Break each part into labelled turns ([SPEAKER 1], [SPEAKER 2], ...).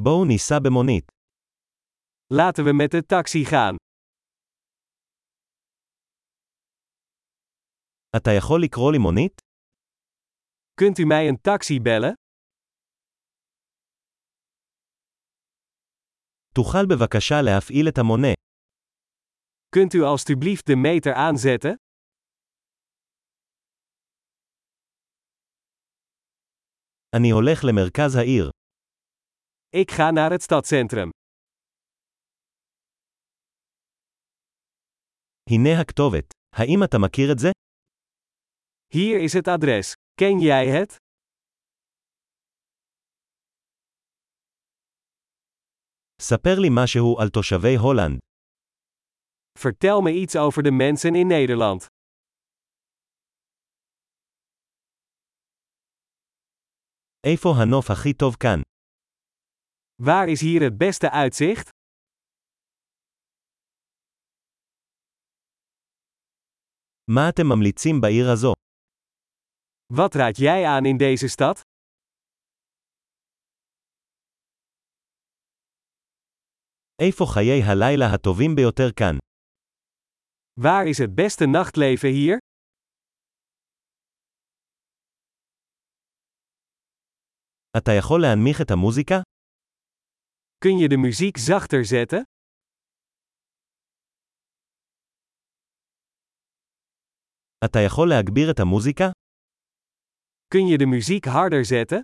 [SPEAKER 1] בואו ניסע במונית.
[SPEAKER 2] Laten we met de taxi gaan.
[SPEAKER 1] אתה יכול לקרוא לי מונית?
[SPEAKER 2] Kunt u mij een taxi bellen?
[SPEAKER 1] תוכל בבקשה להפעיל את המונה.
[SPEAKER 2] Kunt u alstublieft de meter aanzetten?
[SPEAKER 1] אני הולך למרכז העיר.
[SPEAKER 2] Ik ga naar het stadscentrum.
[SPEAKER 1] הנה הכתובת. האם אתה מכיר את זה?
[SPEAKER 2] Hier is het adres. Ken jij het?
[SPEAKER 1] ספר לי משהו על תושבי הולנד.
[SPEAKER 2] Vertel me iets over de mensen in Nederland.
[SPEAKER 1] איפה הנוף הכי טוב כאן?
[SPEAKER 2] Waar is hier het beste uitzicht?
[SPEAKER 1] מה אתם ממליצים בעיר הזו?
[SPEAKER 2] Wat raad jij aan in deze stad?
[SPEAKER 1] איפה חיי הלילה הטובים ביותר כאן?
[SPEAKER 2] Waar is het beste nachtleven hier?
[SPEAKER 1] אתה יכול להנמיך את המוזיקה?
[SPEAKER 2] Kun je de muziek zachter zetten?
[SPEAKER 1] אתה יכול להגביר את המוזיקה?
[SPEAKER 2] Kun je de muziek harder zetten?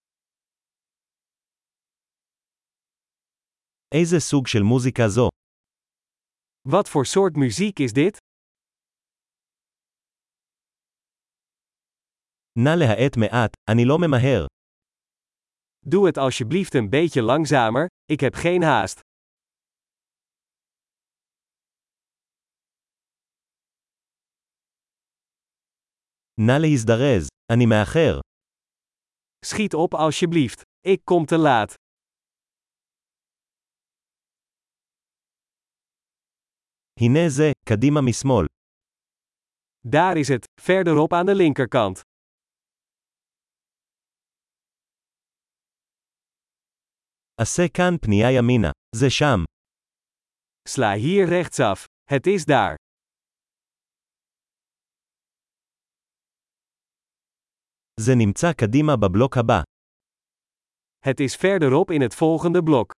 [SPEAKER 1] איזה סוג של מוזיקה זו?
[SPEAKER 2] Wat voor soort muziek is dit?
[SPEAKER 1] נא להאט מעט, אני לא ממהר.
[SPEAKER 2] Doe het alsjeblieft een beetje langzamer, ik heb geen haast.
[SPEAKER 1] נא להזדרז, אני מאחר.
[SPEAKER 2] Schiet op alsjeblieft, ik kom te laat.
[SPEAKER 1] הנה זה, קדימה משמאל.
[SPEAKER 2] Daar is het, verderop aan de linkerkant.
[SPEAKER 1] עשה כאן פנייה ימינה. זה שם.
[SPEAKER 2] Sla hier rechtsaf. Het is daar.
[SPEAKER 1] זה נמצא קדימה בבלוק הבא.
[SPEAKER 2] Het is verderop in het volgende blok.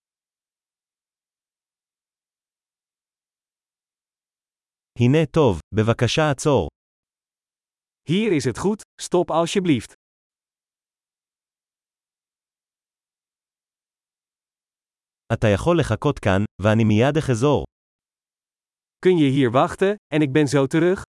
[SPEAKER 1] הנה טוב, בבקשה עצור.
[SPEAKER 2] Hier is het goed, stop alsjeblieft.
[SPEAKER 1] אתה יכול לחכות כאן, ואני מיד אחזור.
[SPEAKER 2] Kun je hier wachten, en ik ben zo terug?